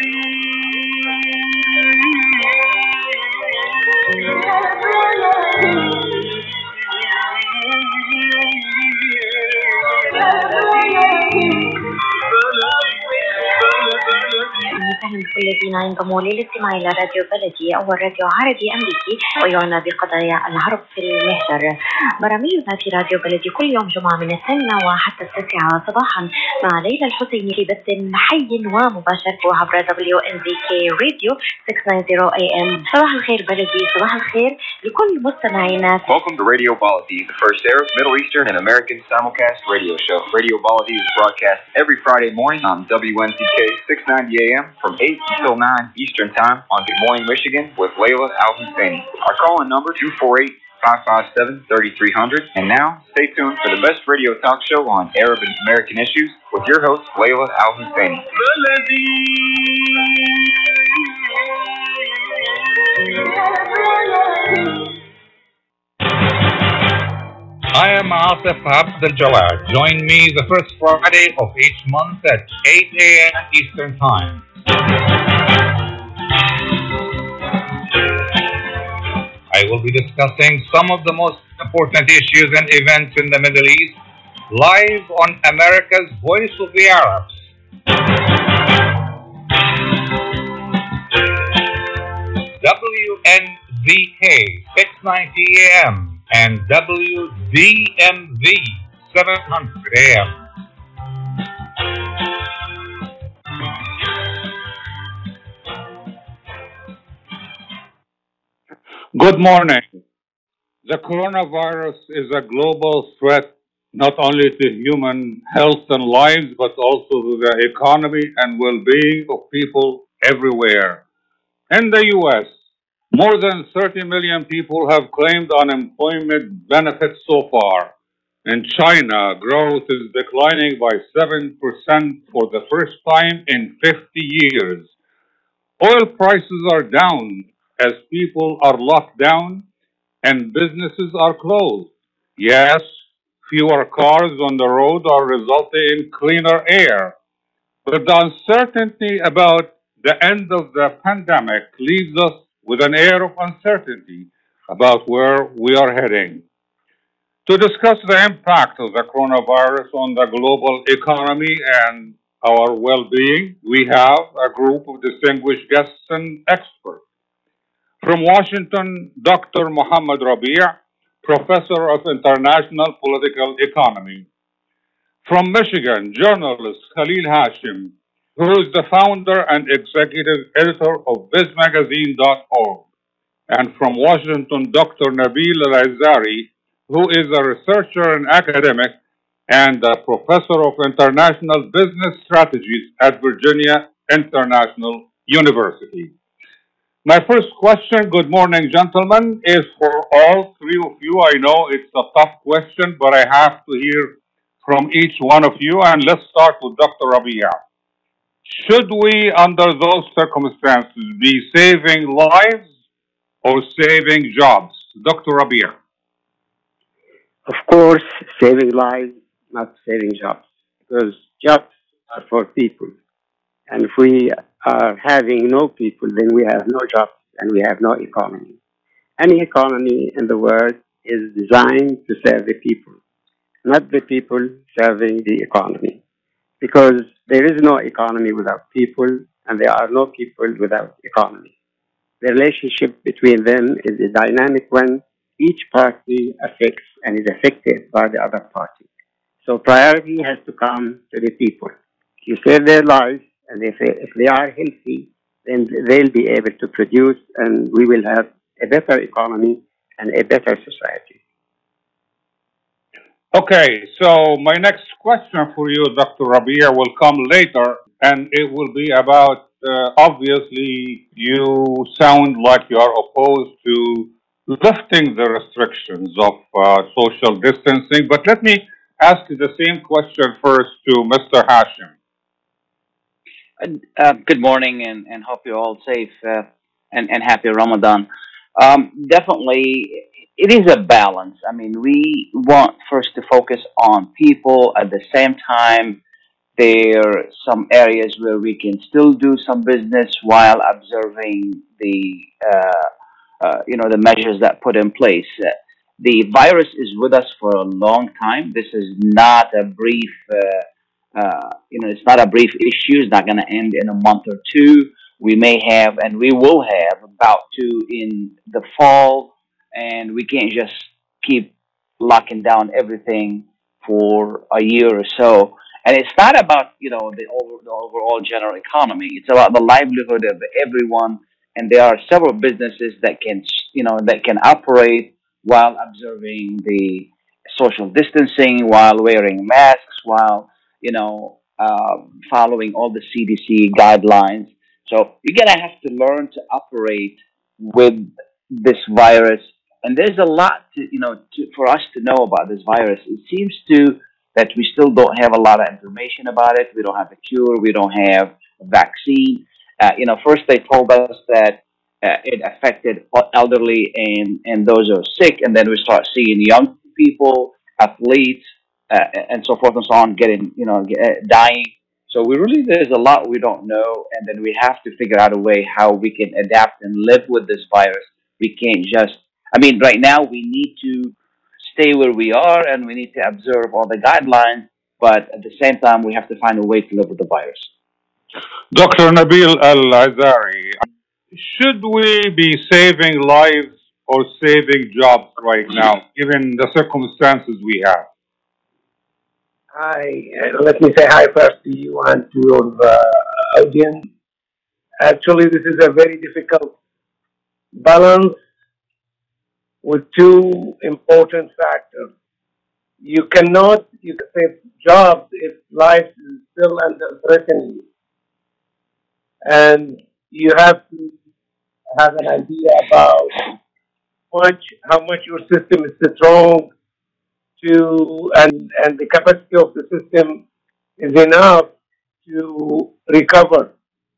بكل الذين ينضموا للاستماع إلى راديو بلدي أول راديو عربي أمريكي ويعنى بقضايا العرب في المهجر. برامجنا في راديو بلدي كل يوم جمعة من 8 وحتى 9 صباحا مع ليلى الحسيني في بث حي ومباشر عبر WNZK راديو 690 AM. صباح الخير بلدي، صباح الخير لكل مستمعينا. Welcome to Radio Baladi, the first Arab, Middle Eastern, and American simulcast radio show. Radio Baladi is broadcast every Friday morning on WNZK 690 AM from 8 until 9 Eastern Time on Good Morning Michigan with Layla Al-Husseini. Our call-in number 248-557-3300. And now, stay tuned for the best radio talk show on Arab and American issues with your host, Layla Al-Husseini. I am Asif Abdel Jawad. Join me the first Friday of each month at 8 a.m. Eastern Time. I will be discussing some of the most important issues and events in the Middle East live on America's Voice of the Arabs. WNZK 690 AM and WDMV 700 AM. Good morning. The coronavirus is a global threat not only to human health and lives, but also to the economy and well-being of people everywhere. In the U.S., more than 30 million people have claimed unemployment benefits so far. In China, growth is declining by 7% for the first time in 50 years. Oil prices are down as people are locked down and businesses are closed. Yes, fewer cars on the road are resulting in cleaner air. But the uncertainty about the end of the pandemic leaves us with an air of uncertainty about where we are heading. To discuss the impact of the coronavirus on the global economy and our well-being, we have a group of distinguished guests and experts. From Washington, Dr. Mohammed Rabih, Professor of International Political Economy. From Michigan, journalist Khalil Hashim, who is the founder and executive editor of BizMagazine.org. And from Washington, Dr. Nabil Al-Azari, who is a researcher and academic and a professor of international business strategies at Virginia International University. My first question, good morning, gentlemen, is for all three of you. I know it's a tough question, but I have to hear from each one of you. And let's start with Dr. Rabih. Should we, under those circumstances, be saving lives or saving jobs? Dr. Rabih. Of course, saving lives, not saving jobs, because jobs are for people. And if we are having no people, then we have no jobs and we have no economy. Any economy in the world is designed to serve the people, not the people serving the economy. Because there is no economy without people, and there are no people without economy. The relationship between them is a dynamic one. Each party affects and is affected by the other party. So priority has to come to the people. You save their lives, and if they are healthy, then they'll be able to produce, and we will have a better economy and a better society. Okay, so my next question for you, Dr. Rabih, will come later, and it will be about, obviously, you sound like you are opposed to lifting the restrictions of social distancing, but let me ask you the same question first to Mr. Hashim. Good morning, and hope you're all safe and happy Ramadan. Definitely, it is a balance. I mean, we want first to focus on people at the same time There are some areas where we can still do some business while observing the measures that put in place. The virus is with us for a long time. This is not a brief, it's not a brief issue. It's not going to end in a month or two. We may have, and we will have, about two in the fall, and we can't just keep locking down everything for a year or so. And it's not about the overall general economy. It's about the livelihood of everyone. And there are several businesses that can operate while observing the social distancing, while wearing masks, while following all the CDC guidelines. So you're gonna have to learn to operate with this virus. And there's a lot for us to know about this virus. It seems that we still don't have a lot of information about it. We don't have a cure. We don't have a vaccine. First they told us that it affected elderly and those who are sick, and then we start seeing young people, athletes, and so forth and so on, dying. So there's a lot we don't know, and then we have to figure out a way how we can adapt and live with this virus. We can't right now we need to stay where we are, and we need to observe all the guidelines, but at the same time, we have to find a way to live with the virus. Dr. Nabil Al-Azari, should we be saving lives or saving jobs right now, given the circumstances we have? Hi, let me say hi first to you and to your audience. Actually, this is a very difficult balance with two important factors. You can save jobs if life is still under threatening. And you have to have an idea about how much your system is strong and the capacity of the system is enough to recover.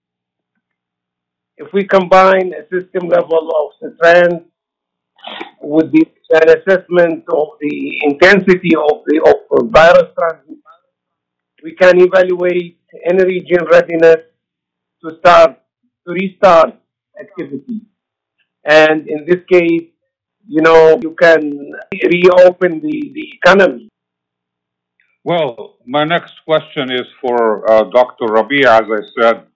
If we combine a system level of strength with an assessment of the intensity of virus transmission, we can evaluate any region readiness to restart activity. And in this case, you can reopen the economy. Well, my next question is for Dr. Rabia. As I said,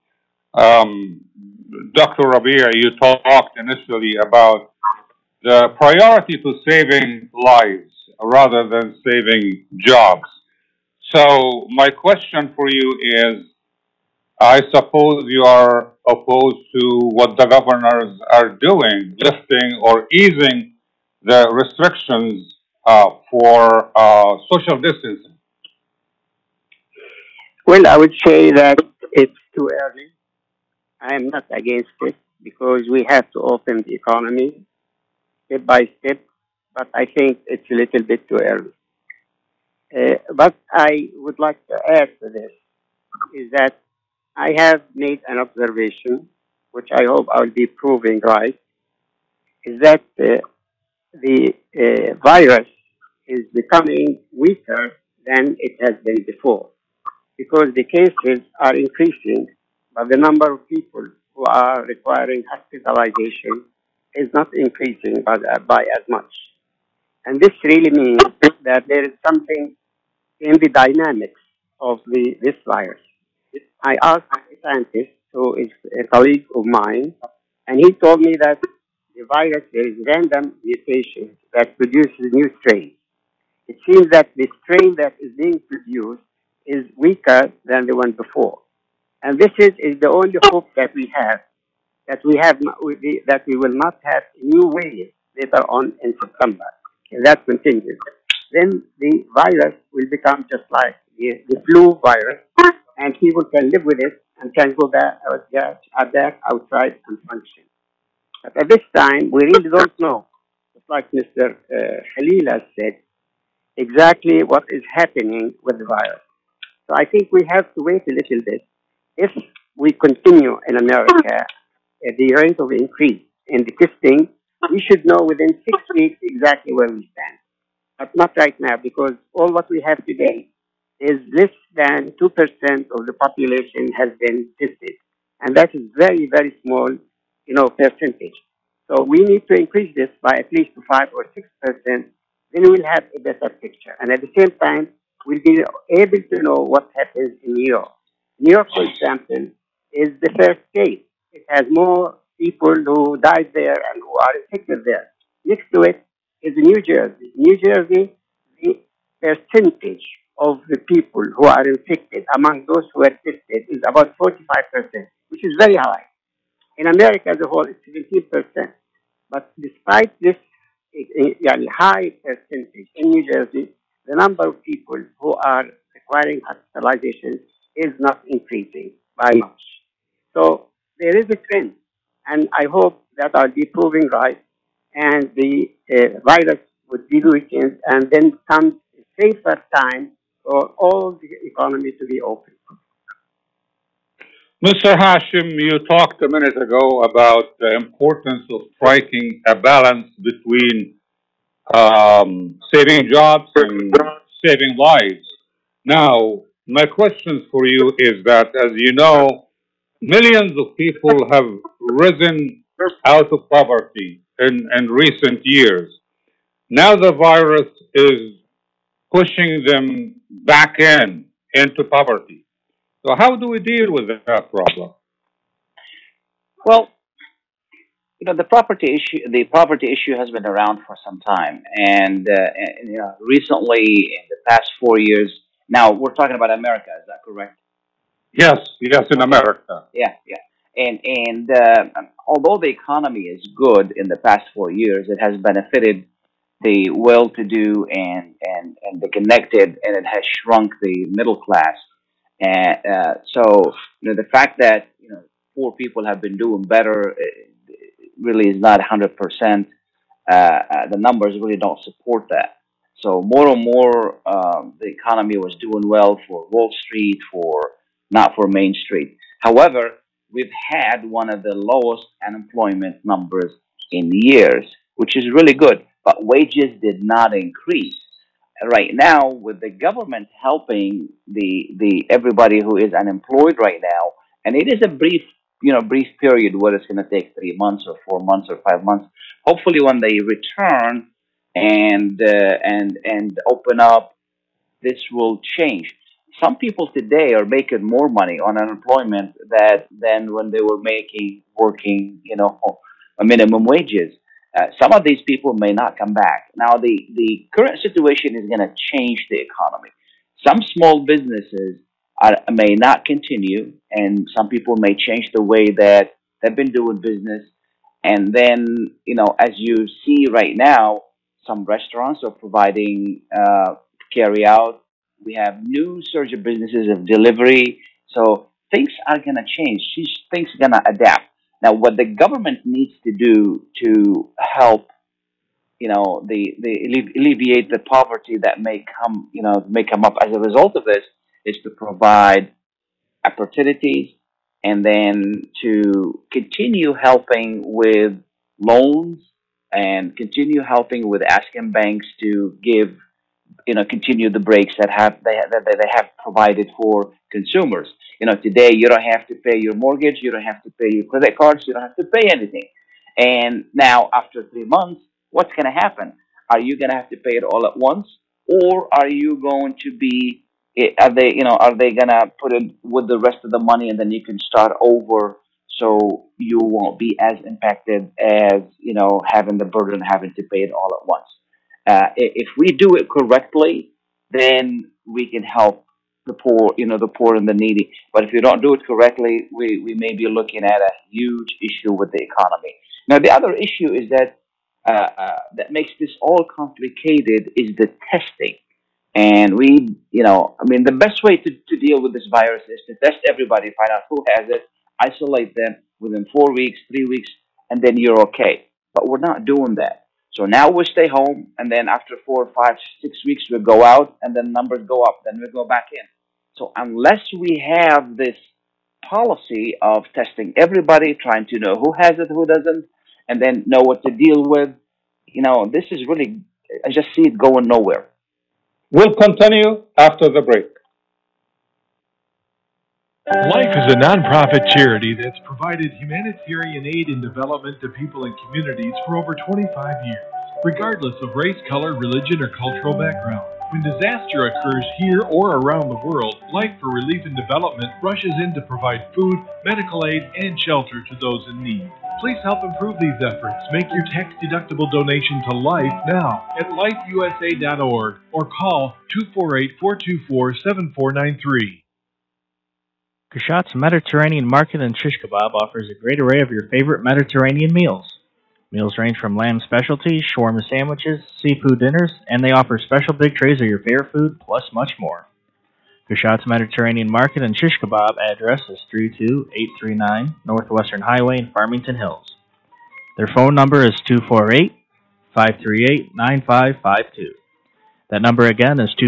Dr. Rabia, you talked initially about the priority to saving lives rather than saving jobs. So my question for you is, I suppose you are opposed to what the governors are doing, lifting or easing the restrictions for social distancing. Well, I would say that it's too early. I am not against it because we have to open the economy step by step, but I think it's a little bit too early. But I would like to add to this is that I have made an observation, which I hope I'll be proving right, is that the virus is becoming weaker than it has been before because the cases are increasing, but the number of people who are requiring hospitalization is not increasing by as much. And this really means that there is something in the dynamics of this virus. I asked a scientist who is a colleague of mine, and he told me that the virus, there is random mutations that produces new strains. It seems that the strain that is being produced is weaker than the one before. And this is the only hope that we have, that we will not have a new wave later on in September. If that continues, then the virus will become just like the flu virus, and people can live with it and can go back outside and function. But at this time, we really don't know, just like Mr. Khalil has said, exactly what is happening with the virus. So I think we have to wait a little bit. If we continue in America at the rate of increase in the testing, we should know within 6 weeks exactly where we stand. But not right now, because all what we have today is less than 2% of the population has been tested. And that is very, very small, percentage. So we need to increase this by at least to 5 or 6%. Then we'll have a better picture. And at the same time, we'll be able to know what happens in New York. New York, for example, is the first state. It has more people who died there and who are infected there. Next to it is New Jersey. New Jersey, the percentage of the people who are infected among those who are tested is about 45%, which is very high. In America as a whole, it's 17%. But despite this high percentage in New Jersey, the number of people who are requiring hospitalization is not increasing by much. So there is a trend, and I hope that I'll be proving right, and the virus would be weakened, and then some safer time for all the economy to be open. Mr. Hashim, you talked a minute ago about the importance of striking a balance between saving jobs and saving lives. Now, my question for you is that, as you know, millions of people have risen out of poverty in recent years. Now the virus is pushing them back into poverty. So how do we deal with that problem? Well, the poverty issue has been around for some time, and recently in the past 4 years. Now we're talking about America. Is that correct? Yes, in America. Yeah. And although the economy is good in the past 4 years, it has benefited the well-to-do and the connected, and it has shrunk the middle class. And so the fact that poor people have been doing better really is not 100%. The numbers really don't support that. So more and more, the economy was doing well for Wall Street, not for Main Street. However, we've had one of the lowest unemployment numbers in years, which is really good. But wages did not increase. Right now, with the government helping the everybody who is unemployed right now, and it is a brief period where it's going to take 3 months or 4 months or 5 months. Hopefully, when they return and open up, this will change. Some people today are making more money on unemployment than when they were working a minimum wages. Some of these people may not come back. Now, the current situation is going to change the economy. Some small businesses may not continue, and some people may change the way that they've been doing business. And then, as you see right now, some restaurants are providing carry out. We have new surge of businesses of delivery. So things are going to change. Things are going to adapt. Now, what the government needs to do to help, alleviate the poverty that may come up as a result of this, is to provide opportunities, and then to continue helping with loans, and continue helping with asking banks to give, continue the breaks that they have provided for consumers. Today you don't have to pay your mortgage, you don't have to pay your credit cards, you don't have to pay anything. And now, after 3 months, what's going to happen? Are you going to have to pay it all at once, or are you going to be? Are they going to put it with the rest of the money, and then you can start over, so you won't be as impacted as having the burden, having to pay it all at once. If we do it correctly, then we can help the poor, the poor and the needy. But if you don't do it correctly, we may be looking at a huge issue with the economy. Now, the other issue is that that makes this all complicated is the testing. And the best way to deal with this virus is to test everybody, find out who has it, isolate them within 4 weeks, 3 weeks, and then you're okay. But we're not doing that. So now we stay home, and then after 4, 5, 6 weeks, we go out, and then numbers go up, then we go back in. So unless we have this policy of testing everybody, trying to know who has it, who doesn't, and then know what to deal with, this is really, I just see it going nowhere. We'll continue after the break. Life is a nonprofit charity that's provided humanitarian aid and development to people and communities for over 25 years, regardless of race, color, religion, or cultural background. When disaster occurs here or around the world, Life for Relief and Development rushes in to provide food, medical aid, and shelter to those in need. Please help improve these efforts. Make your tax-deductible donation to Life now at lifeusa.org or call 248-424-7493. Kashat's Mediterranean Market and Shish Kebab offers a great array of your favorite Mediterranean meals. Meals range from lamb specialties, shawarma sandwiches, seafood dinners, and they offer special big trays of your favorite food, plus much more. Kashat's Mediterranean Market and Shish Kebab address is 32839 Northwestern Highway in Farmington Hills. Their phone number is 248-538-9552. That number again is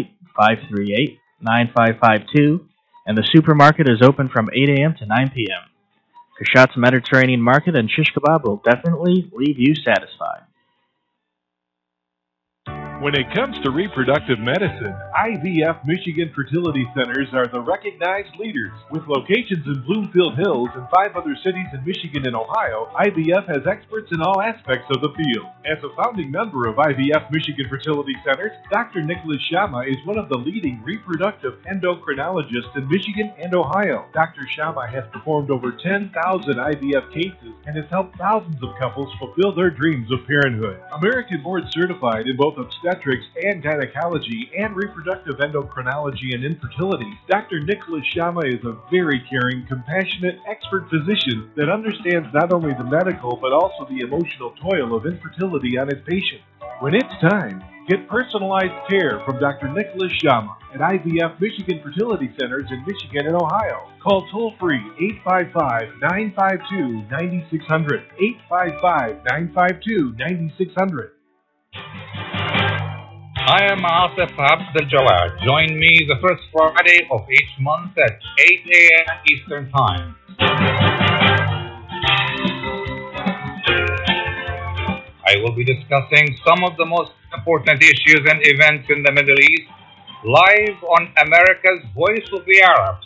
248-538-9552, and the supermarket is open from 8 a.m. to 9 p.m. Kashat's Mediterranean Market and Shish Kebab will definitely leave you satisfied. When it comes to reproductive medicine, IVF Michigan Fertility Centers are the recognized leaders. With locations in Bloomfield Hills and 5 other cities in Michigan and Ohio, IVF has experts in all aspects of the field. As a founding member of IVF Michigan Fertility Centers, Dr. Nicholas Shama is one of the leading reproductive endocrinologists in Michigan and Ohio. Dr. Shama has performed over 10,000 IVF cases and has helped thousands of couples fulfill their dreams of parenthood. American board certified in both obstetrics and gynecology and reproductive endocrinology and infertility, Dr. Nicholas Shama is a very caring, compassionate, expert physician that understands not only the medical but also the emotional toil of infertility on his patients. When it's time, get personalized care from Dr. Nicholas Shama at IVF Michigan Fertility Centers in Michigan and Ohio. Call toll-free 855-952-9600, 855-952-9600. I am Asif Abdel-Jawad. Join me the first Friday of each month at 8 a.m. Eastern Time. I will be discussing some of the most important issues and events in the Middle East live on America's Voice of the Arabs.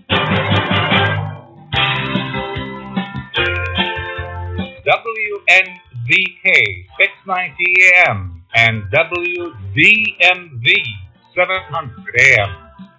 WNZK 690 AM and WDMV 700 AM.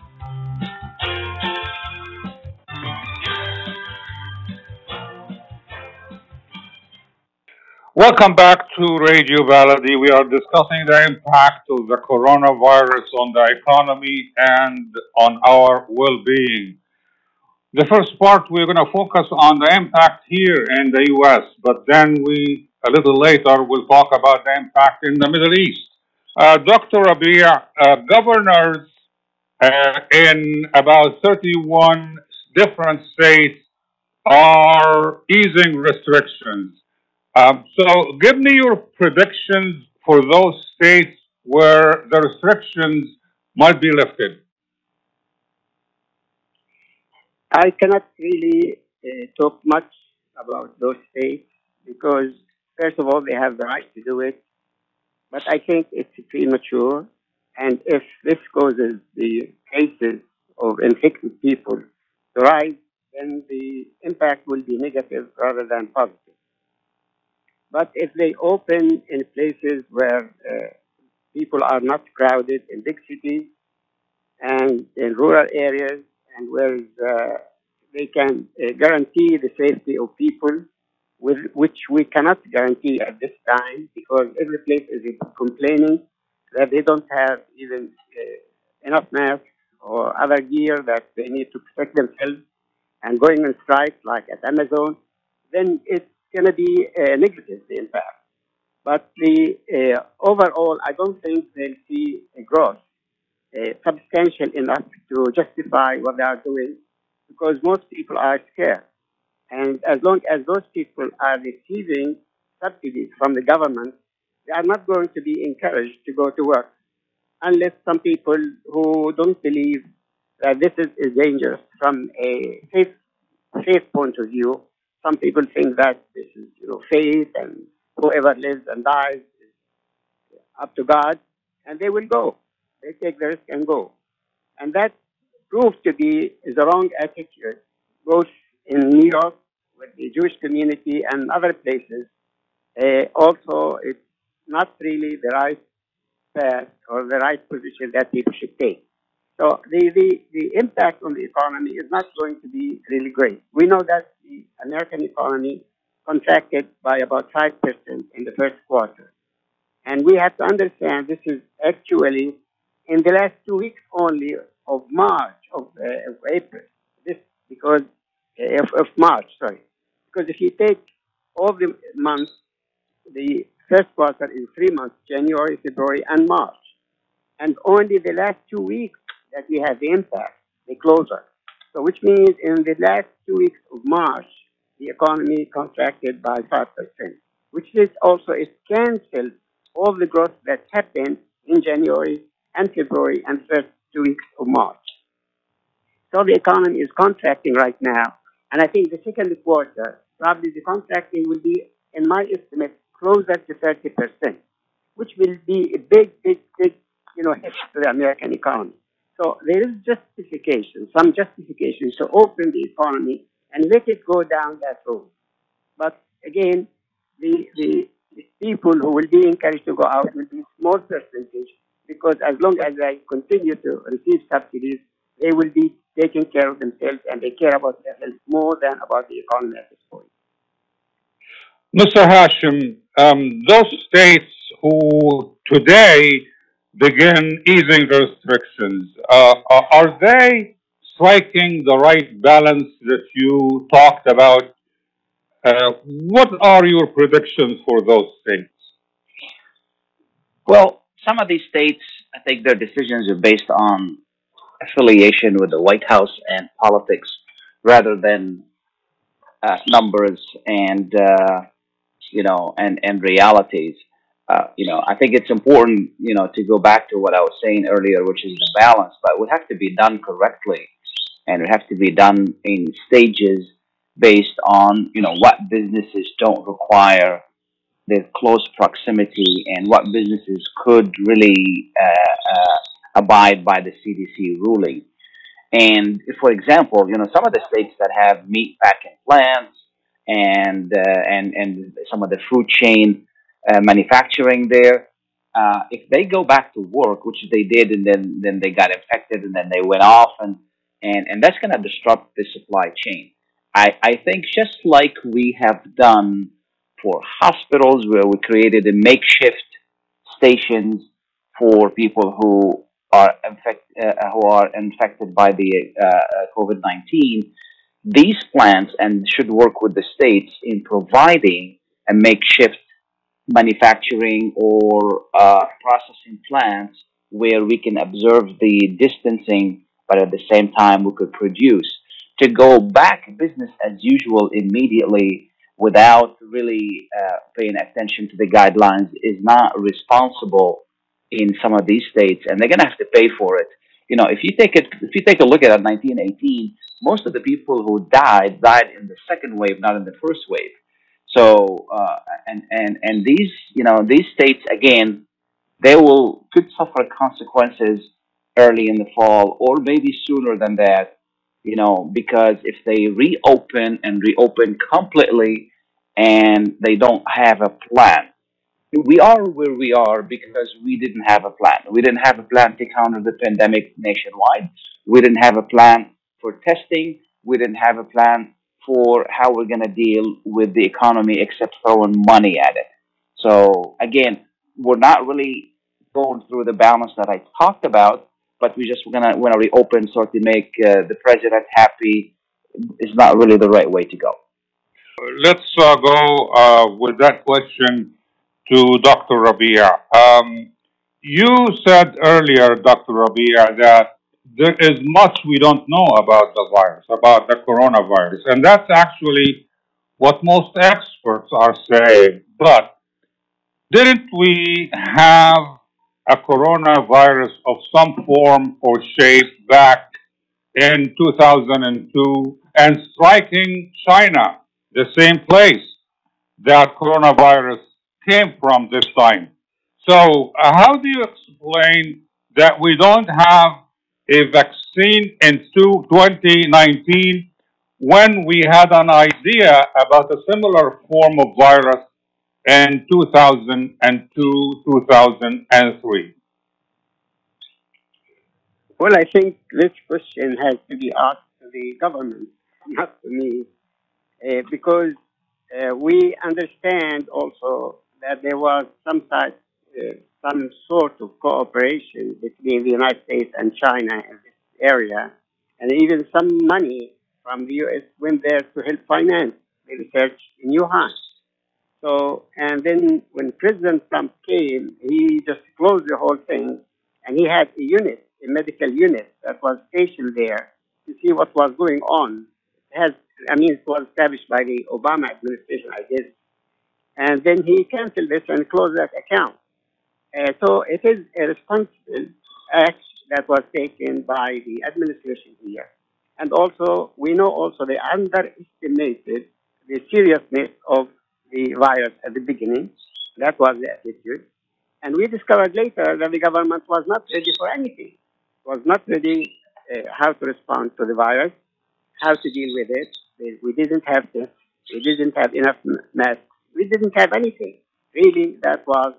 Welcome back to Radio Baladi. We are discussing the impact of the coronavirus on the economy and on our well-being. The first part, we're going to focus on the impact here in the U.S., but then a little later, we'll talk about the impact in the Middle East. Dr. Rabia, governors in about 31 different states are easing restrictions. So give me your predictions for those states where the restrictions might be lifted. I cannot really talk much about those states because, first of all, they have the right to do it. But I think it's premature. And if this causes the cases of infected people to rise, then the impact will be negative rather than positive. But if they open in places where people are not crowded, in big cities and in rural areas, and where they can guarantee the safety of people, which we cannot guarantee at this time because every place is complaining that they don't have even enough masks or other gear that they need to protect themselves and going on strikes like at Amazon, then it's going to be negative, the impact. But the overall, I don't think they'll see a growth substantial enough to justify what they are doing because most people are scared. And as long as those people are receiving subsidies from the government, they are not going to be encouraged to go to work unless some people who don't believe that this is dangerous from a faith point of view. Some people think that this is faith and whoever lives and dies is up to God, and they will go. They take the risk and go. And that proved to be the wrong attitude, both in New York with the Jewish community and other places. Also, it's not really the right path or the right position that people should take. So the impact on the economy is not going to be really great. We know that the American economy contracted by about 5% in the first quarter. And we have to understand this is actually in the last 2 weeks only of March, of April, this because of March, sorry. Because if you take all the months, the first quarter is 3 months, January, February, and March. And only the last 2 weeks that we have the impact, the closure. So which means in the last 2 weeks of March, the economy contracted by 5%, which is also, it canceled all the growth that happened in January and February and first 2 weeks of March. So the economy is contracting right now. And I think the second quarter, probably the contracting will be, in my estimate, closer to 30%, which will be a big, hit to the American economy. So there is some justification to open the economy and let it go down that road. But again, the people who will be encouraged to go out will be a small percentage, because as long as they continue to receive subsidies, they will be taking care of themselves and they care about their health more than about the economy at this point. Mr. Hashim, those states who today begin easing restrictions, are they striking the right balance that you talked about? What are your predictions for those states? Well, some of these states, I think their decisions are based on affiliation with the White House and politics rather than numbers and realities. I think it's important, to go back to what I was saying earlier, which is the balance, but it would have to be done correctly, and it would have to be done in stages based on, what businesses don't require the close proximity and what businesses could really abide by the CDC ruling. And if, for example, some of the states that have meat packing plants and some of the food chain manufacturing there, if they go back to work, which they did, and then they got infected, and then they went off, and that's going to disrupt the supply chain. I think just like we have done for hospitals, where we created a makeshift stations for people who are infected by the COVID-19, these plants and should work with the states in providing a makeshift manufacturing or processing plants where we can observe the distancing, but at the same time we could produce. To go back business as usual immediately without really paying attention to the guidelines is not responsible in some of these states, and they're going to have to pay for it. If you take a look at 1918, most of the people who died in the second wave, not in the first wave. So, and these states, again, could suffer consequences early in the fall or maybe sooner than that, because if they reopen completely and they don't have a plan. We are where we are because we didn't have a plan. We didn't have a plan to counter the pandemic nationwide. We didn't have a plan for testing. We didn't have a plan for how we're going to deal with the economy except throwing money at it. So again, we're not really going through the balance that I talked about, but we just want to reopen so to make the president happy is not really the right way to go. Let's go with that question to Dr. Rabia. You said earlier, Dr. Rabia, that there is much we don't know about the virus, about the coronavirus, and that's actually what most experts are saying. But didn't we have a coronavirus of some form or shape back in 2002 and striking China, the same place that coronavirus came from this time? So how do you explain that we don't have a vaccine in 2019 when we had an idea about a similar form of virus in 2002, 2003? Well, I think this question has to be asked to the government, not to me, because we understand also that there was some sort of cooperation between the United States and China in this area, and even some money from the U.S. went there to help finance the research in Wuhan. So, and then when President Trump came, he just closed the whole thing, and he had a medical unit that was stationed there to see what was going on. It was established by the Obama administration, I guess. And then he canceled this and closed that account. So it is a responsible act that was taken by the administration here. And also, we know also they underestimated the seriousness of the virus at the beginning. That was the attitude. And we discovered later that the government was not ready for anything. Was not ready how to respond to the virus, how to deal with it. We didn't have this. We didn't have enough masks. We didn't have anything. Really, that was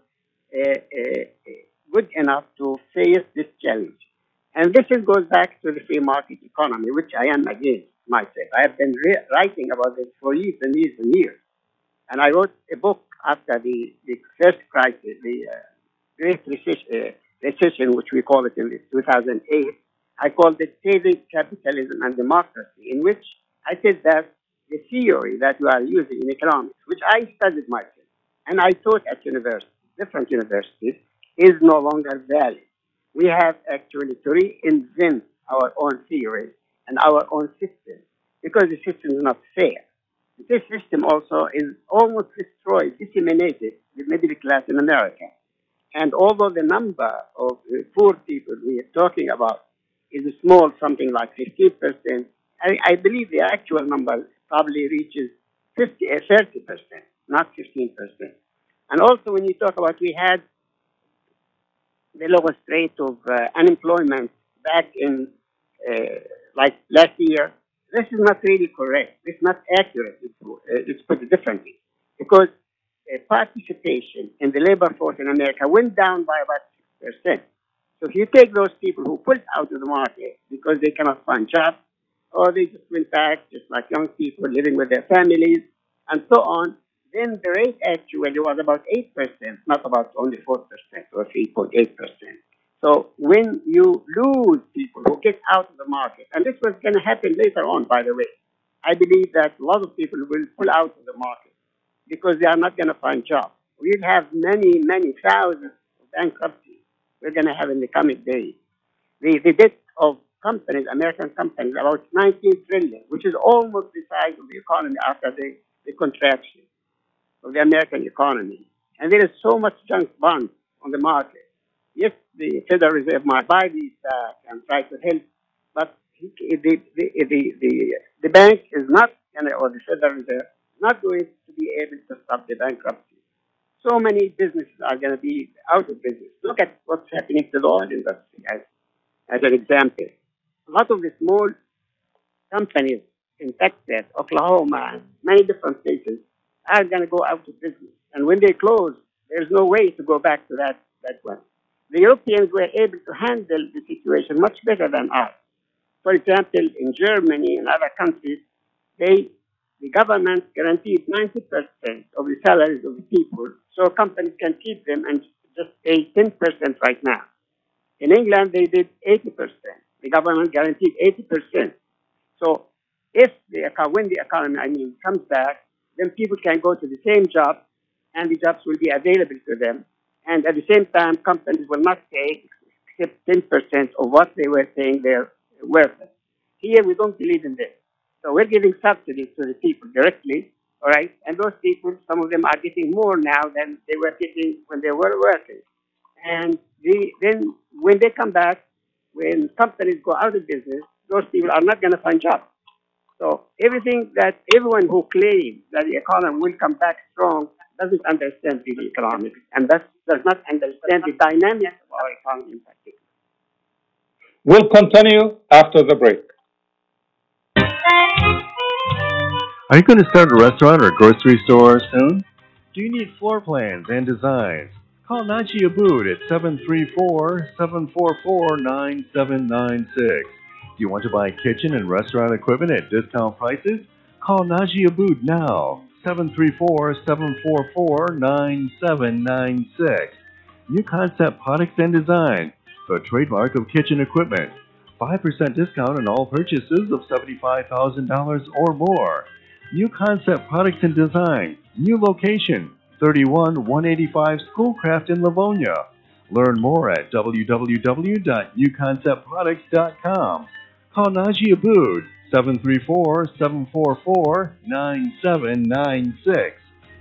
good enough to face this challenge. And this goes back to the free market economy, which I am against myself. I have been writing about this for years and years and years. And I wrote a book after the first crisis, the Great Recession, which we call it in 2008. I called it Saving Capitalism and Democracy, in which I said that the theory that we are using in economics, which I studied myself, and I taught at different universities, is no longer valid. We have actually to reinvent our own theories and our own system, because the system is not fair. This system also is almost destroyed, disseminated the middle class in America. And although the number of poor people we are talking about is small, something like 15%, I believe the actual number probably reaches 30%, not 15%. And also when you talk about we had the lowest rate of unemployment back in like last year, this is not really correct. It's not accurate. Let's put it differently. Because participation in the labor force in America went down by about 6%. So if you take those people who pulled out of the market because they cannot find jobs, or they just went back, just like young people living with their families, and so on, then the rate actually was about 8%, not about only 4% or 3.8%. So when you lose people who get out of the market, and this was going to happen later on, by the way, I believe that a lot of people will pull out of the market because they are not going to find jobs. We'll have many, many thousands of bankruptcies we're going to have in the coming days. The debt of companies, American companies, about 19 trillion, which is almost the size of the economy after the contraction of the American economy. And there is so much junk bonds on the market. Yes, the Federal Reserve might buy these back and try to help, but the bank is not, or the Federal Reserve, not going to be able to stop the bankruptcy. So many businesses are going to be out of business. Look at what's happening to the oil industry as an example. A lot of the small companies in Texas, Oklahoma, and many different places are going to go out of business. And when they close, there's no way to go back to that one. The Europeans were able to handle the situation much better than us. For example, in Germany and other countries, the government guaranteed 90% of the salaries of the people, so companies can keep them and just pay 10% right now. In England, they did 80%. The government guaranteed 80%. So when the economy comes back, then people can go to the same job, and the jobs will be available to them. And at the same time, companies will not pay except 10% of what they were paying their workers. Here, we don't believe in this. So we're giving subsidies to the people directly, all right? And those people, some of them are getting more now than they were getting when they were working. And then when they come back, when companies go out of business, those people are not going to find jobs. So everyone who claims that the economy will come back strong doesn't understand the economics and does not understand the dynamics of our economy in particular. We'll continue after the break. Are you going to start a restaurant or grocery store soon? Do you need floor plans and designs? Call Najee Abood at 734-744-9796. Do you want to buy kitchen and restaurant equipment at discount prices? Call Najee Abood now, 734-744-9796. New Concept Products and Design, the trademark of kitchen equipment. 5% discount on all purchases of $75,000 or more. New Concept Products and Design, new location, 31185 Schoolcraft in Livonia. Learn more at www.newconceptproducts.com. Call Najee Abood, 734-744-9796.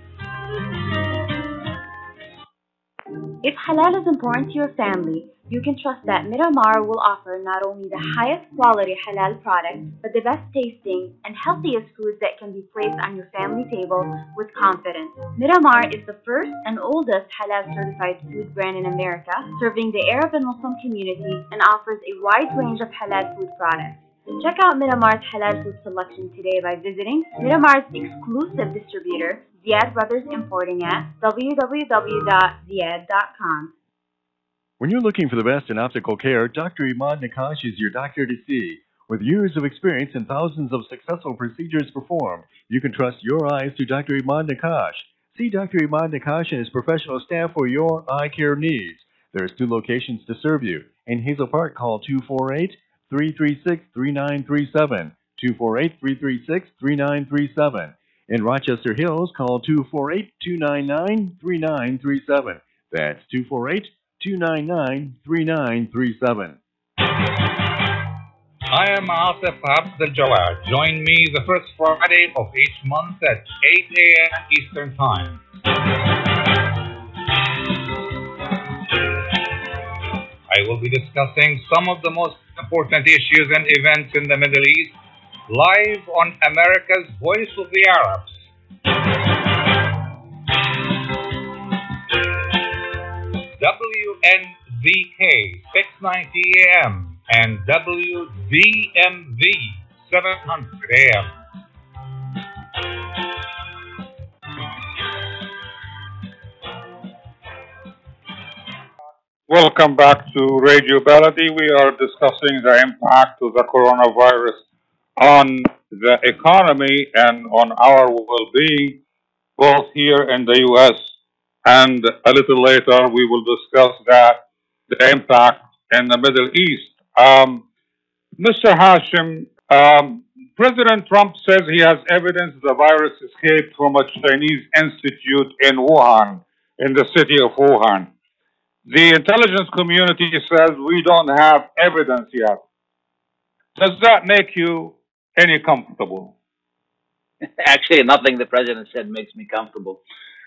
If halal is important to your family, you can trust that Miramar will offer not only the highest quality halal products, but the best tasting and healthiest foods that can be placed on your family table with confidence. Miramar is the first and oldest halal certified food brand in America, serving the Arab and Muslim communities, and offers a wide range of halal food products. Check out Miramar's halal food selection today by visiting Miramar's exclusive distributor, Ziad Brothers Importing at www.ziad.com. When you're looking for the best in optical care, Dr. Imad Nakash is your doctor to see. With years of experience and thousands of successful procedures performed, you can trust your eyes to Dr. Imad Nakash. See Dr. Imad Nakash and his professional staff for your eye care needs. There's 2 locations to serve you. In Hazel Park, call 248-336-3937. 248-336-3937. In Rochester Hills, call 248-299-3937. That's 248-299-3937. I am Asif Abdel Jawad. Join me the first Friday of each month at 8 a.m. Eastern Time. I will be discussing some of the most important issues and events in the Middle East live on America's Voice of the Arabs. WNZK 690 AM and WDMV 700 AM. Welcome back to Radio Baladi. We are discussing the impact of the coronavirus on the economy and on our well-being, both here in the U.S. and a little later we will discuss the impact in the Middle East. Mr. Hashim, President Trump says he has evidence the virus escaped from a Chinese institute in Wuhan, in the city of Wuhan. The intelligence community says we don't have evidence yet. Does that make you any comfortable? Actually, nothing the president said makes me comfortable.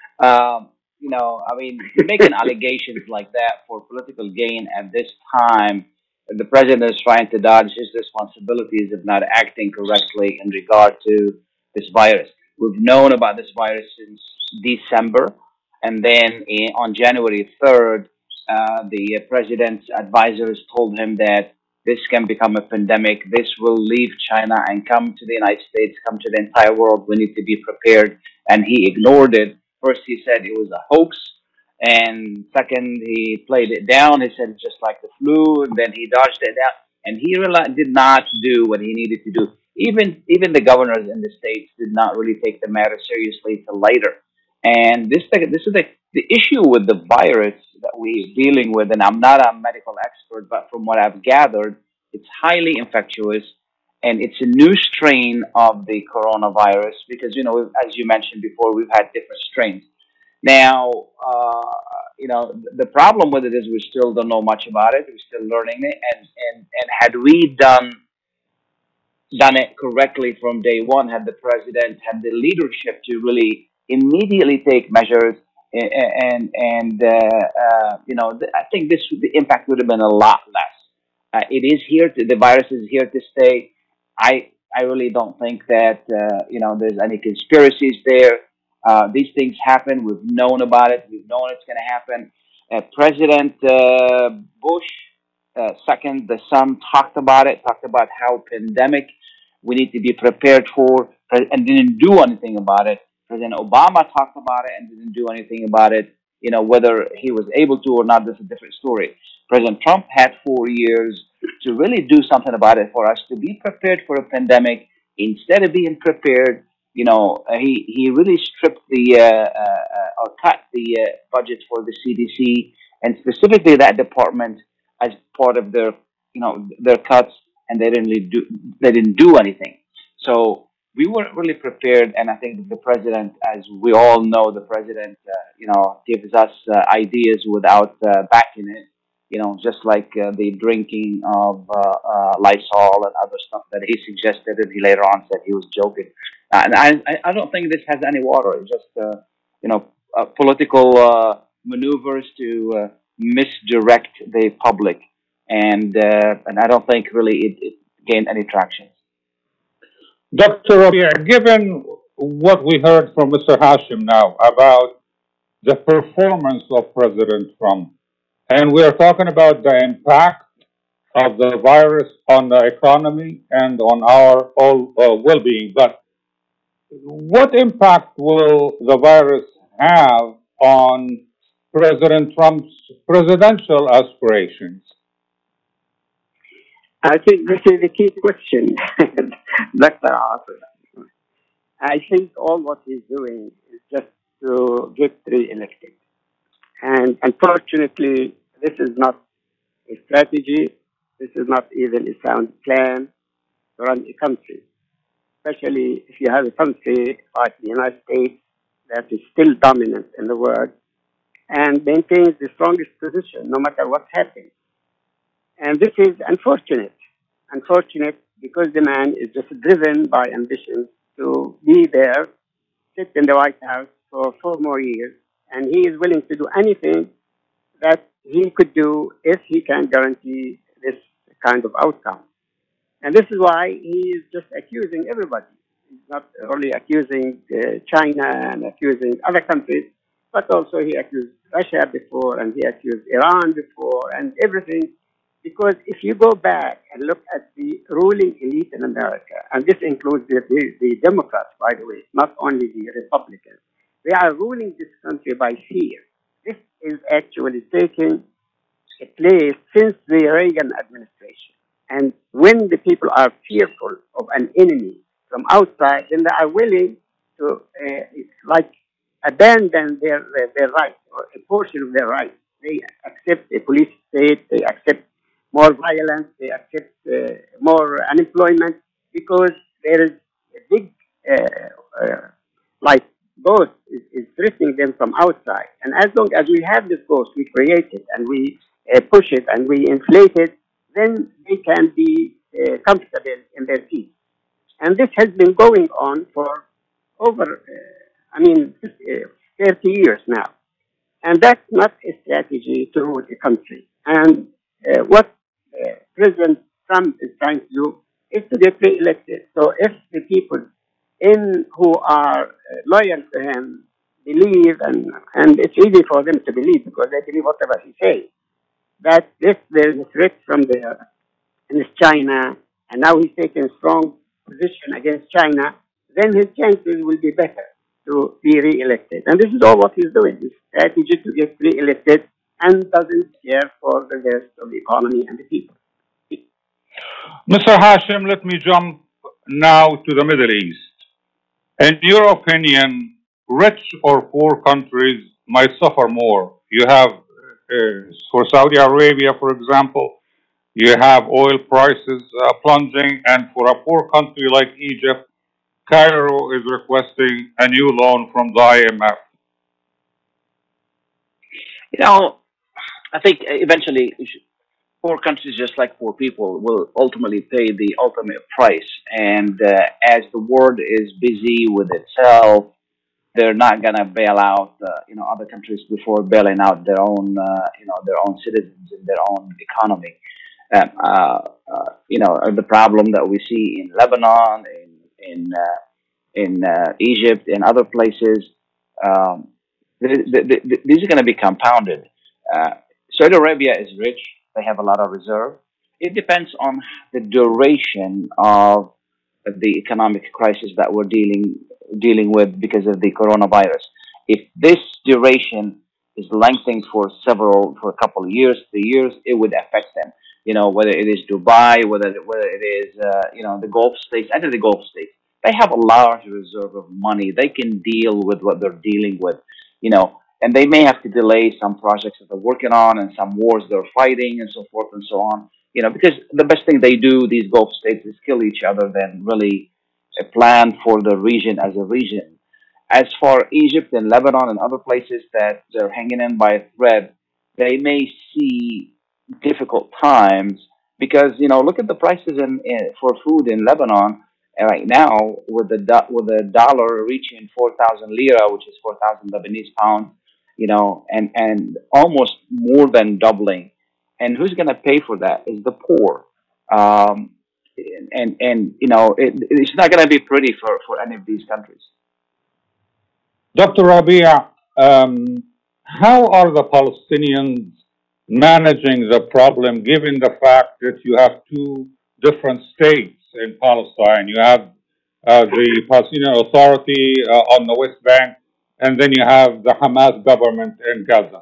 Making allegations like that for political gain at this time, the president is trying to dodge his responsibilities of not acting correctly in regard to this virus. We've known about this virus since December, and then on January 3rd, the president's advisors told him that this can become a pandemic. This will leave China and come to the United States, come to the entire world. We need to be prepared. And he ignored it. First, he said it was a hoax. And second, he played it down. He said it's just like the flu. And then he dodged it out. And he did not do what he needed to do. Even the governors in the states did not really take the matter seriously till later. And this is the issue with the virus that we're dealing with, and I'm not a medical expert, but from what I've gathered, it's highly infectious, and it's a new strain of the coronavirus because, as you mentioned before, we've had different strains. Now, the problem with it is we still don't know much about it. We're still learning it, and had we done it correctly from day one, had the president had the leadership to really immediately take measures, I think the impact would have been a lot less. It is here. The virus is here to stay. I really don't think that there's any conspiracies there. These things happen. We've known about it. We've known it's going to happen. President Bush Second, the Sun talked about how pandemic we need to be prepared for, and didn't do anything about it. President Obama talked about it and didn't do anything about it. Whether he was able to or not, that's a different story. President Trump had 4 years to really do something about it for us to be prepared for a pandemic. Instead of being prepared, he really stripped or cut the budget for the CDC and specifically that department as part of their cuts, and they didn't do anything. So we weren't really prepared, and I think the president, as we all know, the president, gives us ideas without backing it. Just like the drinking of Lysol and other stuff that he suggested, and he later on said he was joking. And I don't think this has any water. It's just political maneuvers to misdirect the public, and I don't think really it gained any traction. Dr. Rabia, given what we heard from Mr. Hashim now about the performance of President Trump, and we are talking about the impact of the virus on the economy and on our all well-being, but what impact will the virus have on President Trump's presidential aspirations? I think this is the key question, Dr. Asif. I think all what he's doing is just to get re-elected. And unfortunately, this is not a strategy. This is not even a sound plan to run a country, especially if you have a country like the United States that is still dominant in the world and maintains the strongest position no matter what happens. And this is unfortunate because the man is just driven by ambition to be there, sit in the White House for 4 more years, and he is willing to do anything that he could do if he can guarantee this kind of outcome. And this is why he is just accusing everybody. He's not only accusing China and accusing other countries, but also he accused Russia before, and he accused Iran before, and everything. Because if you go back and look at the ruling elite in America, and this includes the Democrats, by the way, not only the Republicans, they are ruling this country by fear. This is actually taking a place since the Reagan administration. And when the people are fearful of an enemy from outside, then they are willing to abandon their rights or a portion of their rights. They accept a police state, they accept more violence, they accept more unemployment because there is a big ghost is threatening them from outside. And as long as we have this ghost, we create it and we push it and we inflate it, then they can be comfortable in their seats. And this has been going on for over, 30 years now. And that's not a strategy to rule a country. And what President Trump is trying to do is to get re-elected. So if the people who are loyal to him believe, and it's easy for them to believe because they believe whatever he says, that if there is a threat from there, and it's China, and now he's taking a strong position against China, then his chances will be better to be re-elected. And this is all what he's doing, his strategy to get re-elected, and doesn't care for the rest of the economy and the people. Mr. Hashim, let me jump now to the Middle East. In your opinion, rich or poor countries might suffer more? You have, for Saudi Arabia, for example, you have oil prices plunging, and for a poor country like Egypt, Cairo is requesting a new loan from the IMF. I think eventually poor countries, just like poor people, will ultimately pay the ultimate price. And as the world is busy with itself, they're not going to bail out, other countries before bailing out their own citizens and their own economy. The problem that we see in Lebanon, in Egypt, and other places, these are going to be compounded. Saudi Arabia is rich. They have a lot of reserve. It depends on the duration of the economic crisis that we're dealing with because of the coronavirus. If this duration is lengthening for a couple of years, 3 years, it would affect them. Whether it is Dubai, whether it is the Gulf states, and the Gulf states, they have a large reserve of money. They can deal with what they're dealing with, and they may have to delay some projects that they're working on and some wars they're fighting and so forth and so on. Because the best thing they do, these Gulf states, is kill each other than really plan for the region as a region. As for Egypt and Lebanon and other places that they're hanging in by a thread, they may see difficult times because look at the prices for food in Lebanon right now with the dollar reaching 4,000 lira, which is 4,000 Lebanese pounds, and almost more than doubling. And who's going to pay for that is the poor. It's not going to be pretty for any of these countries. Dr. Rabia, how are the Palestinians managing the problem given the fact that you have two different states in Palestine? You have the Palestinian Authority on the West Bank, and then you have the Hamas government in Gaza.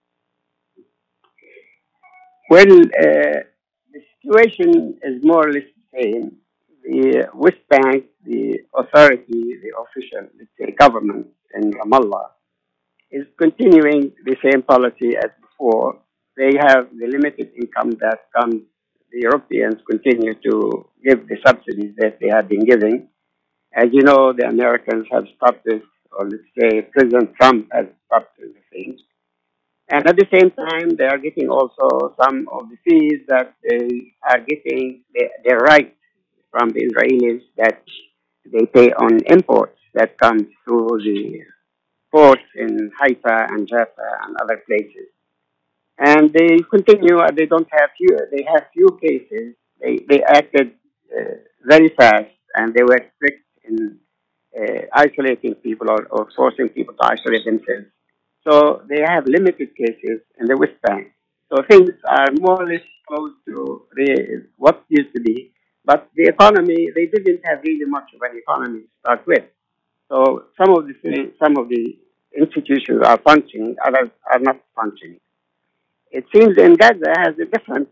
Well, the situation is more or less the same. The West Bank, the authority, the official, let's say, government in Ramallah is continuing the same policy as before. They have the limited income that comes. The Europeans continue to give the subsidies that they have been giving. As you know, the Americans have stopped this, or let's say President Trump has stopped the thing. And at the same time, they are getting also some of the fees that they are getting their right from the Israelis that they pay on imports that comes through the ports in Haifa and Jaffa and other places. And they continue, they don't have few, they have few cases. They acted very fast and they were strict in isolating people or forcing people to isolate themselves. So they have limited cases in the West Bank. So things are more or less close to what used to be. But the economy, they didn't have really much of an economy to start with. So some of the institutions are functioning, others are not functioning. It seems in Gaza has a different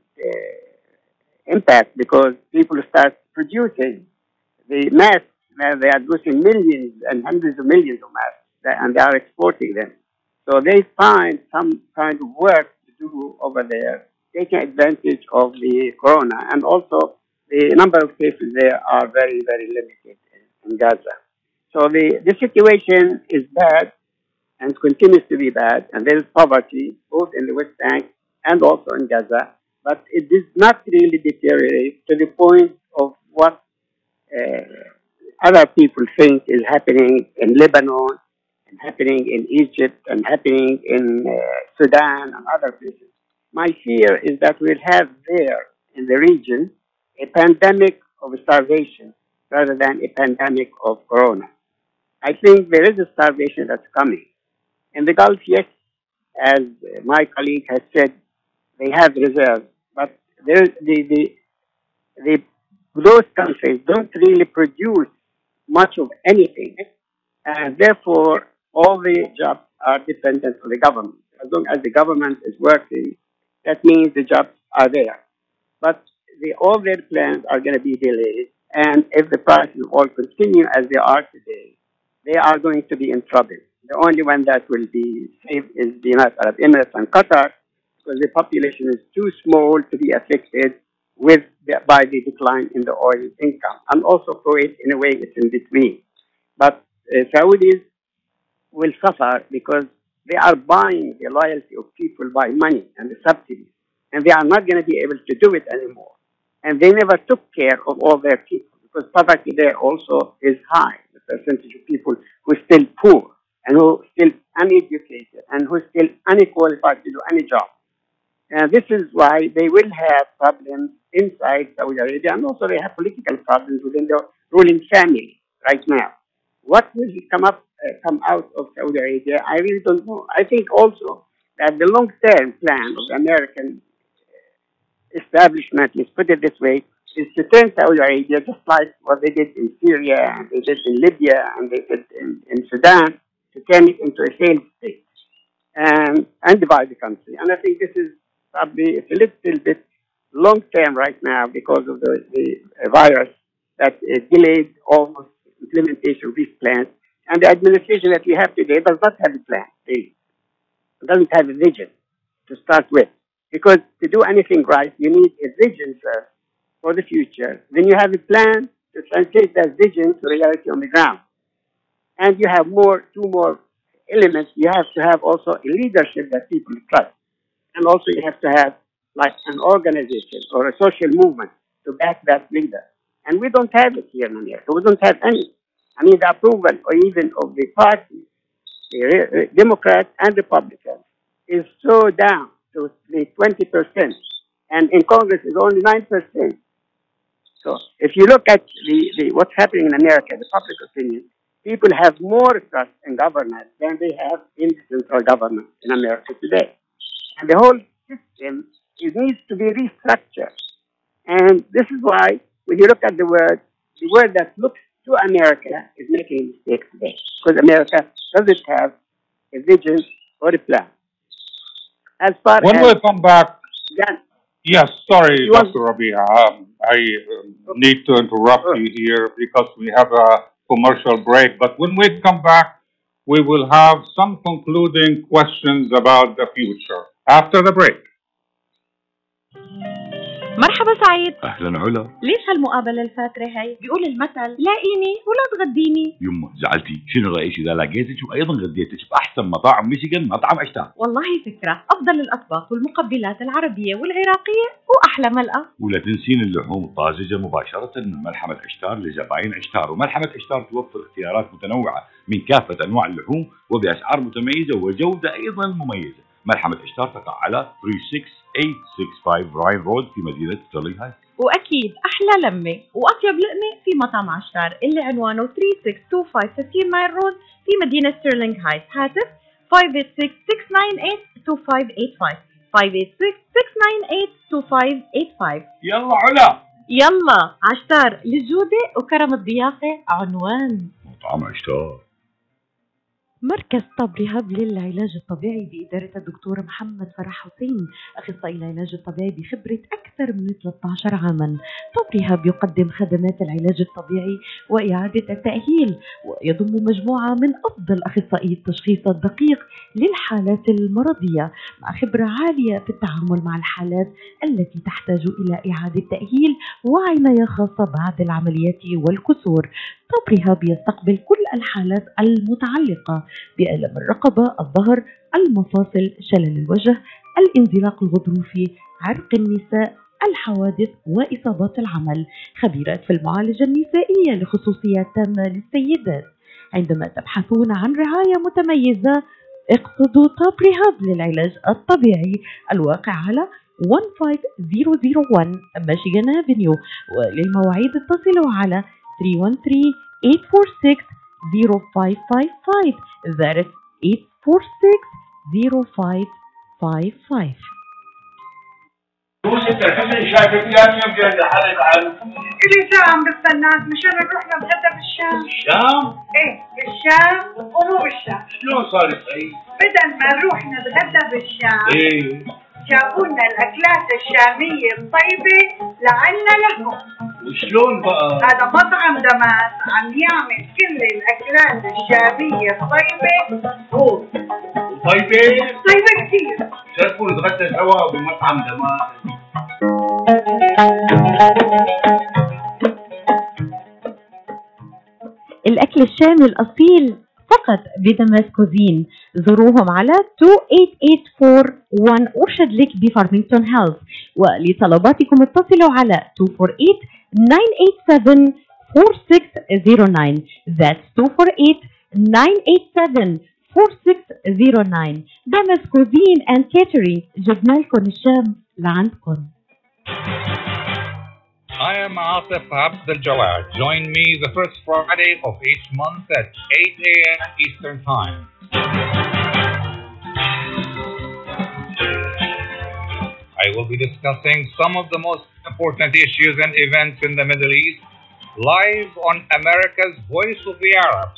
impact because people start producing the masks. They are producing millions and hundreds of millions of masks, and they are exporting them. So they find some kind of work to do over there, taking advantage of the corona. And also the number of cases there are very, very limited in Gaza. So the situation is bad and continues to be bad. And there is poverty both in the West Bank and also in Gaza. But it does not really deteriorate to the point of what other people think is happening in Lebanon, and happening in Egypt, and happening in Sudan and other places. My fear is that we'll have there in the region a pandemic of starvation rather than a pandemic of corona. I think there is a starvation that's coming. In the Gulf, yes, as my colleague has said, they have reserves, but those countries don't really produce much of anything, and therefore all the jobs are dependent on the government. As long as the government is working, that means the jobs are there. But all their plans are going to be delayed, and if the prices all continue as they are today, they are going to be in trouble. The only one that will be safe is the United Arab Emirates and Qatar, because the population is too small to be affected by the decline in the oil income. And also Kuwait, in a way, it's in between. But Saudis will suffer because they are buying the loyalty of people by money and the subsidies, and they are not going to be able to do it anymore. And they never took care of all their people because poverty there also is high. The percentage of people who are still poor and who are still uneducated and who are still unqualified to do any job. And this is why they will have problems inside Saudi Arabia, and also they have political problems within the ruling family right now. What will come out of Saudi Arabia, I really don't know. I think also that the long-term plan of the American establishment, let's put it this way, is to turn Saudi Arabia just like what they did in Syria, and they did in Libya, and they did in Sudan, to turn it into a failed state and divide the country. And I think this is probably a little bit long term right now because of the virus that delayed almost implementation of these plans. And the administration that we have today does not have a plan. It doesn't have a vision to start with. Because to do anything right, you need a vision first for the future. Then you have a plan to translate that vision to reality on the ground. And you have two more elements. You have to have also a leadership that people trust. And also you have to have like an organization or a social movement to back that leader. And we don't have it here in America. We don't have any. I mean, the approval or even of the parties, the Democrats and Republicans, is so down to the 20%. And in Congress is only 9%. So if you look at what's happening in America, the public opinion, people have more trust in government than they have in the central government in America today. And the whole system needs to be restructured. And this is why, when you look at the word that looks to America is making a mistake today. Because America doesn't have a vision or a plan. As far when as... we come back... Then, yes, sorry, Dr. Rabia. I need to interrupt you here because we have a commercial break. But when we come back, we will have some concluding questions about the future. After the break. مرحبا سعيد. أهلا علا. ليش هالمقابلة الفاترة هي؟ بيقول المثل لاقيني ولا تغديني. يما زعلتي، شنو رأيك إذا لقيتك وأيضا غديتك بأحسن مطاعم ميشيغان مطعم عشتار؟ والله فكرة، أفضل الأطباق والمقبلات العربية والعراقية وأحلى ملقا. ولا تنسين اللحوم الطازجة مباشرة من ملحمة عشتار لزباين عشتار، وملحمة عشتار توفر اختيارات متنوعة من كافة أنواع اللحوم وبأسعار متميزة وجودة أيضا مميزة. ملحمة عشتار تقع على 36865 راين رود في مدينة ستيرلينغ هايتس. وأكيد أحلى لمة وأطيب لقمة في مطعم عشتار اللي عنوانه 3625 15 مايل رود في مدينة ستيرلينغ هايتس. هاتف 586-698-2585 586-698-2585. يلا علا يلا عشتار للجودة وكرم الضيافة عنوان مطعم عشتار. مركز طب ريهاب للعلاج الطبيعي بإدارة الدكتور محمد فرح حسين، أخصائي العلاج الطبيعي بخبرة أكثر من 13 عاما. طب ريهاب يقدم خدمات العلاج الطبيعي وإعادة التأهيل، ويضم مجموعة من أفضل أخصائي التشخيص الدقيق للحالات المرضية مع خبرة عالية في التعامل مع الحالات التي تحتاج إلى إعادة تأهيل وعناية خاصة بعد العمليات والكسور. طب ريهاب يستقبل كل الحالات المتعلقة بألم الرقبة، الظهر، المفاصل، شلل الوجه، الانزلاق الغضروفي، عرق النساء، الحوادث وإصابات العمل. خبيرات في المعالجة النسائية لخصوصيات تامة للسيدات. عندما تبحثون عن رعاية متميزة اقصدوا طب ريهاب للعلاج الطبيعي الواقع على 15001 ميشيغان افنيو. وللمواعيد اتصلوا على 313-846-0555. That is 846-0555. كل ساعة عم بستناك مشان نروح نتغدى بالشام. بالشام؟ ايه بالشام ومو بالشام. شلون صار صحيح؟ بدل ما نروح نتغدى بالشام ايه جابوا لنا الأكلات الشامية الطيبة لعنا لكم. وشلون بقى؟ هذا مطعم دماس عم يعمل كل الأكلات الشامية الطيبة هو. طيبة؟ طيبة كثير. شرفوا نتغدى سوا بمطعم دماس. الأكل الشامي الأصيل فقط بدماس كوزين. زوروهم على 28841 أورشاد ليك بفارمينغتون هيلز. ولطلباتكم اتصلوا على 248-987-4609. That's 248-987-4609. دماس كوزين and catering، جبنا لكم الشام لعندكم. I am Atif Abdel Jawad. Join me the first Friday of each month at 8 a.m. Eastern Time. I will be discussing some of the most important issues and events in the Middle East live on America's Voice of the Arabs.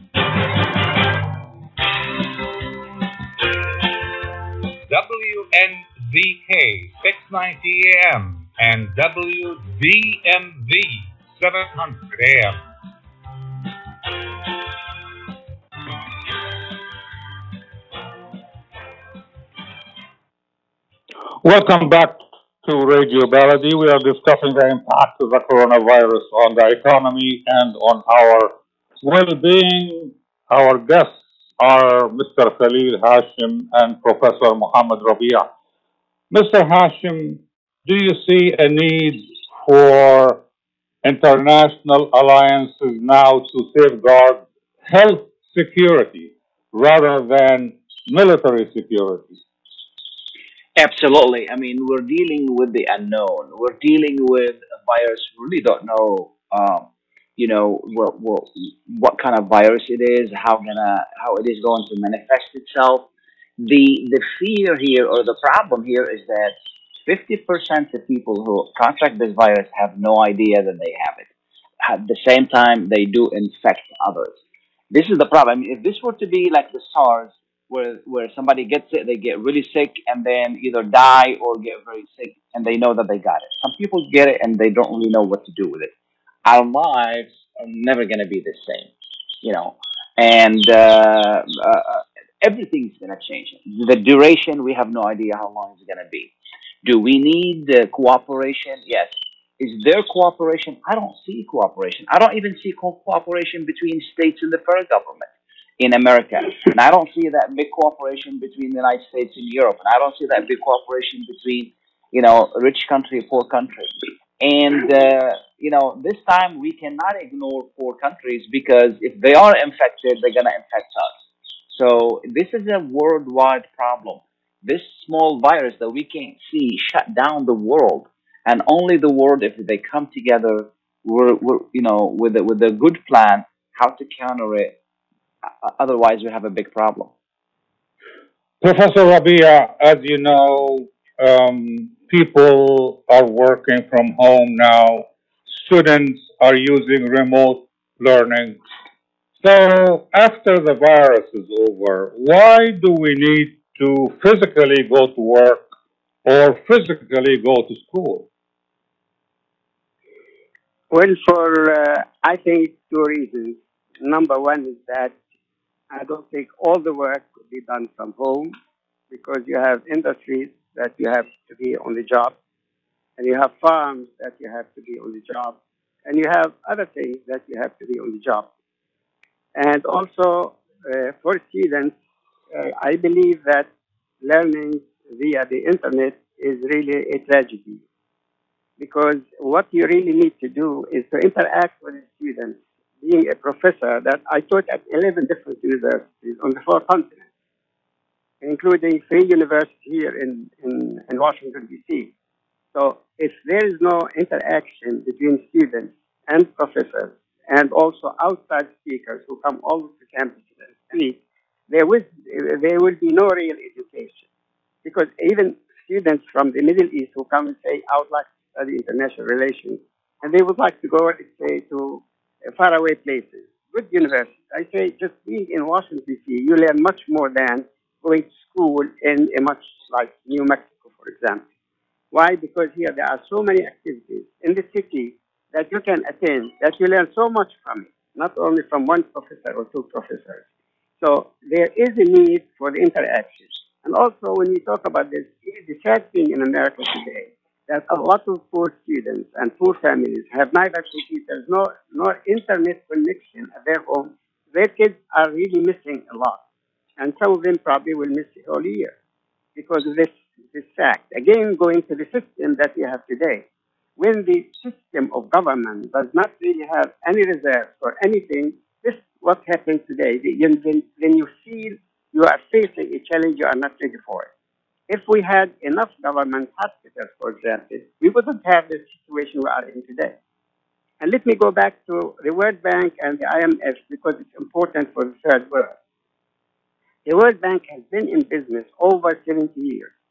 WNZK 690 AM and WDMV 700 AM. Welcome back to Radio Baladi. We are discussing the impact of the coronavirus on the economy and on our well-being. Our guests are Mr. Khalil Hashim and Professor Muhammad Rabia. Mr. Hashim, do you see a need for international alliances now to safeguard health security rather than military security? Absolutely. I mean, we're dealing with the unknown. We're dealing with a virus. We really don't know, what kind of virus it is, how it is going to manifest itself. The fear here, or the problem here, is that 50% of people who contract this virus have no idea that they have it. At the same time, they do infect others. This is the problem. I mean, if this were to be like the SARS, where somebody gets it, they get really sick, and then either die or get very sick, and they know that they got it. Some people get it, and they don't really know what to do with it. Our lives are never going to be the same, and everything's going to change. The duration, we have no idea how long it's going to be. Do we need cooperation? Yes. Is there cooperation? I don't see cooperation. I don't even see cooperation between states and the federal government in America. And I don't see that big cooperation between the United States and Europe. And I don't see that big cooperation between, rich country, poor country. And, this time we cannot ignore poor countries, because if they are infected, they're going to infect us. So this is a worldwide problem. This small virus that we can't see shut down the world. And only the world, if they come together, with a good plan, how to counter it. Otherwise, we have a big problem. Professor Rabia, as you know, people are working from home now. Students are using remote learning. So after the virus is over, why do we need to physically go to work or physically go to school? Well, I think two reasons. Number one is that I don't think all the work could be done from home, because you have industries that you have to be on the job, and you have farms that you have to be on the job, and you have other things that you have to be on the job. And also, for students, I believe that learning via the internet is really a tragedy, because what you really need to do is to interact with the students. Being a professor, that I taught at 11 different universities on the 4 continents, including Free University here in Washington, D.C. So if there is no interaction between students and professors, and also outside speakers who come all to campus and speak, there will be no real education. Because even students from the Middle East who come and say, I would like to study international relations, and they would like to go, let's say, to faraway places, good universities. I say just being in Washington, D.C., you learn much more than going to school in a much like New Mexico, for example. Why? Because here there are so many activities in the city that you can attend, that you learn so much from it, not only from one professor or two professors. So there is a need for the interaction. And also when we talk about this, the sad thing in America today, that a lot of poor students and poor families have neither computers nor internet connection at their home. Their kids are really missing a lot. And some of them probably will miss the whole year because of this fact. Again, going to the system that we have today. When the system of government does not really have any reserve for anything, this is what happens today. When you feel you are facing a challenge, you are not ready for it. If we had enough government hospitals, for example, we wouldn't have the situation we are in today. And let me go back to the World Bank and the IMF because it's important for the third world. The World Bank has been in business over 70 years.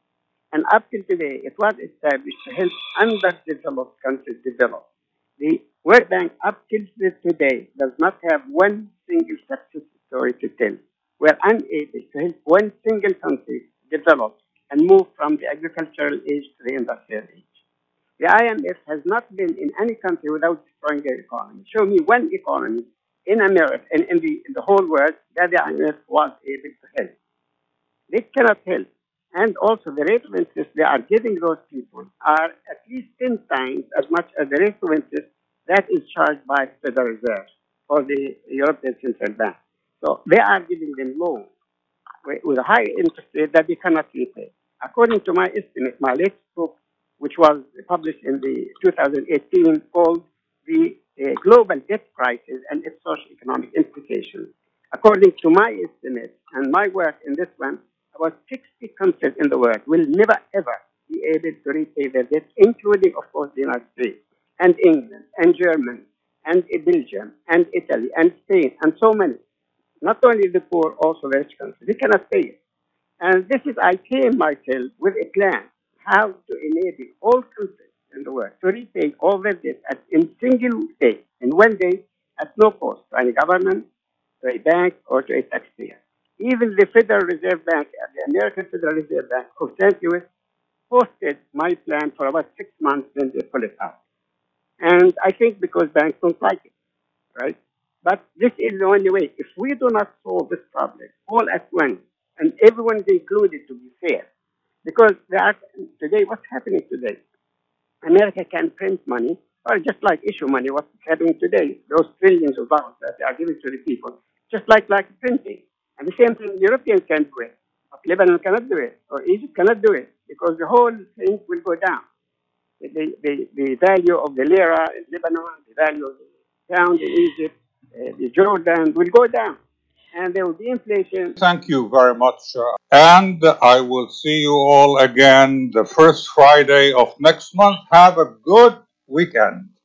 And up till today, it was established to help underdeveloped countries develop. The World Bank, up till today, does not have one single success story to tell. We're unable to help one single country develop and move from the agricultural age to the industrial age. The IMF has not been in any country without destroying their economy. Show me one economy in America and in the whole world that the IMF was able to help. They cannot help. And also the rate of interest they are giving those people are at least 10 times as much as the rate of interest that is charged by the Federal Reserve or the European Central Bank. So they are giving them loans with a high interest rate that they cannot repay. According to my estimate, my latest book, which was published in the 2018, called The Global Debt Crisis and Its Socio-Economic Implications. According to my estimate and my work in this one, about 60 countries in the world will never ever be able to repay their debt, including, of course, the United States and England and Germany and Belgium and Italy and Spain and so many. Not only the poor, also the rich countries. They cannot pay it. And this is, I came myself with a plan how to enable all countries in the world to repay all their debt in single day, in one day, at no cost to any government, to a bank, or to a taxpayer. Even the Federal Reserve Bank, the American Federal Reserve Bank of St. Louis, posted my plan for about 6 months, then they pull it out. And I think because banks don't like it, right? But this is the only way. If we do not solve this problem all at once, and everyone is included to be fair, because today, what's happening today? America can print money, or just like issue money, what's happening today, those trillions of dollars that they are giving to the people, just like printing. And the same thing, Europeans can do it, but Lebanon cannot do it, or Egypt cannot do it, because the whole thing will go down. The value of the lira in Lebanon, the value of the pound in Egypt, the Jordan will go down. And there will be inflation. Thank you very much. And I will see you all again the first Friday of next month. Have a good weekend.